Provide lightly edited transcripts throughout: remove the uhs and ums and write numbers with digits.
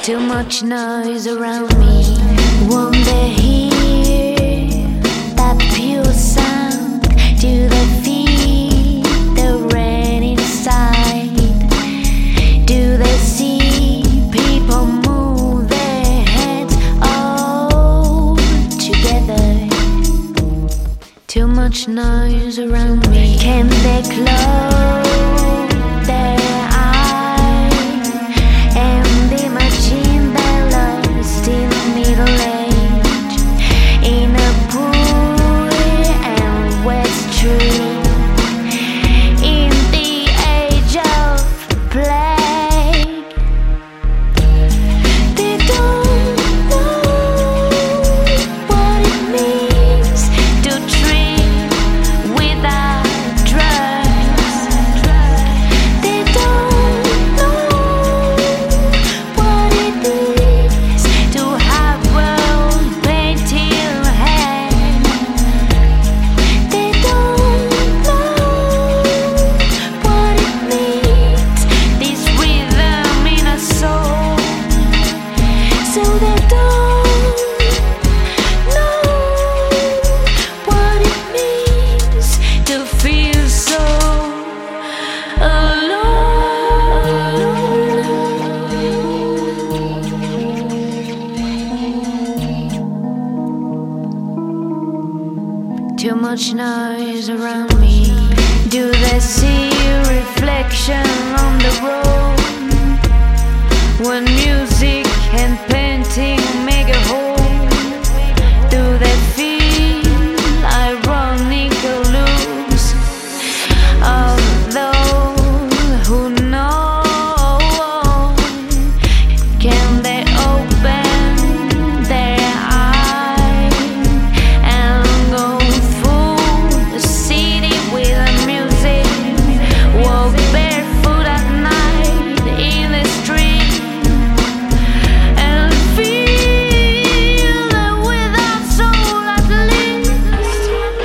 Too much noise around me. Won't they hear that pure sound? Do they feel the rain inside? Do they see people move their heads all together? Too much noise around me. Can they close their eyes and imagine their lost in the Middle Age, in a poor and wet street, in the age of plague? They don't know what it means to dream without drugs. They don't know what it is to have world painted hand. They don't know what it means, this rhythm in a soul. So they don't know what it means to feel so alone. Too much noise around me. Do they see a reflection on the road when music and painting make a whole? Do they feel ironic looks of those who know? Can they open their eyes and go through the city with the music? Walk barefoot at night in the street and feel that without soul at least?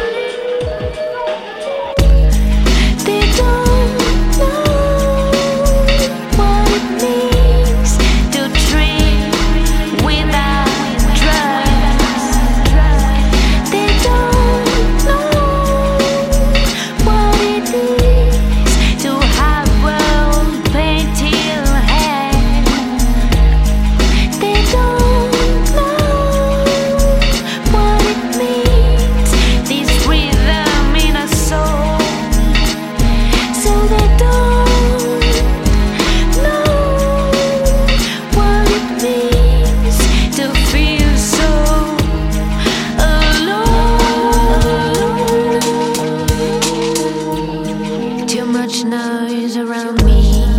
They don't know what it means to dream without drugs. They don't know what it is to have world painted hand. They don't know what it means, this rhythm in a soul. So they don't know what it means to feel so alone. Too much noise around me.